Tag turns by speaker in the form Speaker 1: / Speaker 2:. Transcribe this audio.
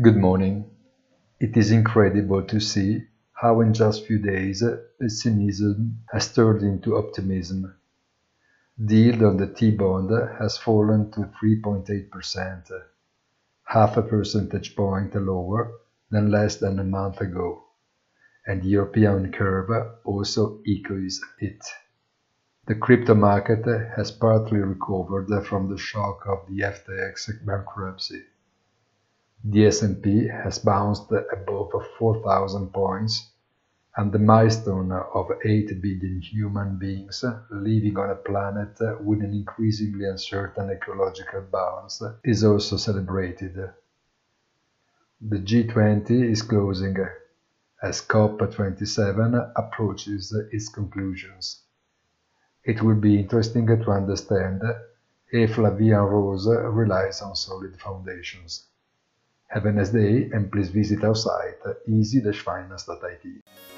Speaker 1: Good morning. It is incredible to see how in just few days pessimism has turned into optimism. The yield on the T-bond has fallen to 3.8%, half a percentage point lower than less than a month ago, and the European curve also echoes it. The crypto market has partly recovered from the shock of the FTX bankruptcy. The S&P has bounced above 4,000 points, and the milestone of 8 billion human beings living on a planet with an increasingly uncertain ecological balance is also celebrated. The G20 is closing as COP27 approaches its conclusions. It will be interesting to understand if La Vie en Rose relies on solid foundations. Have a nice day and please visit our site easy-finance.it.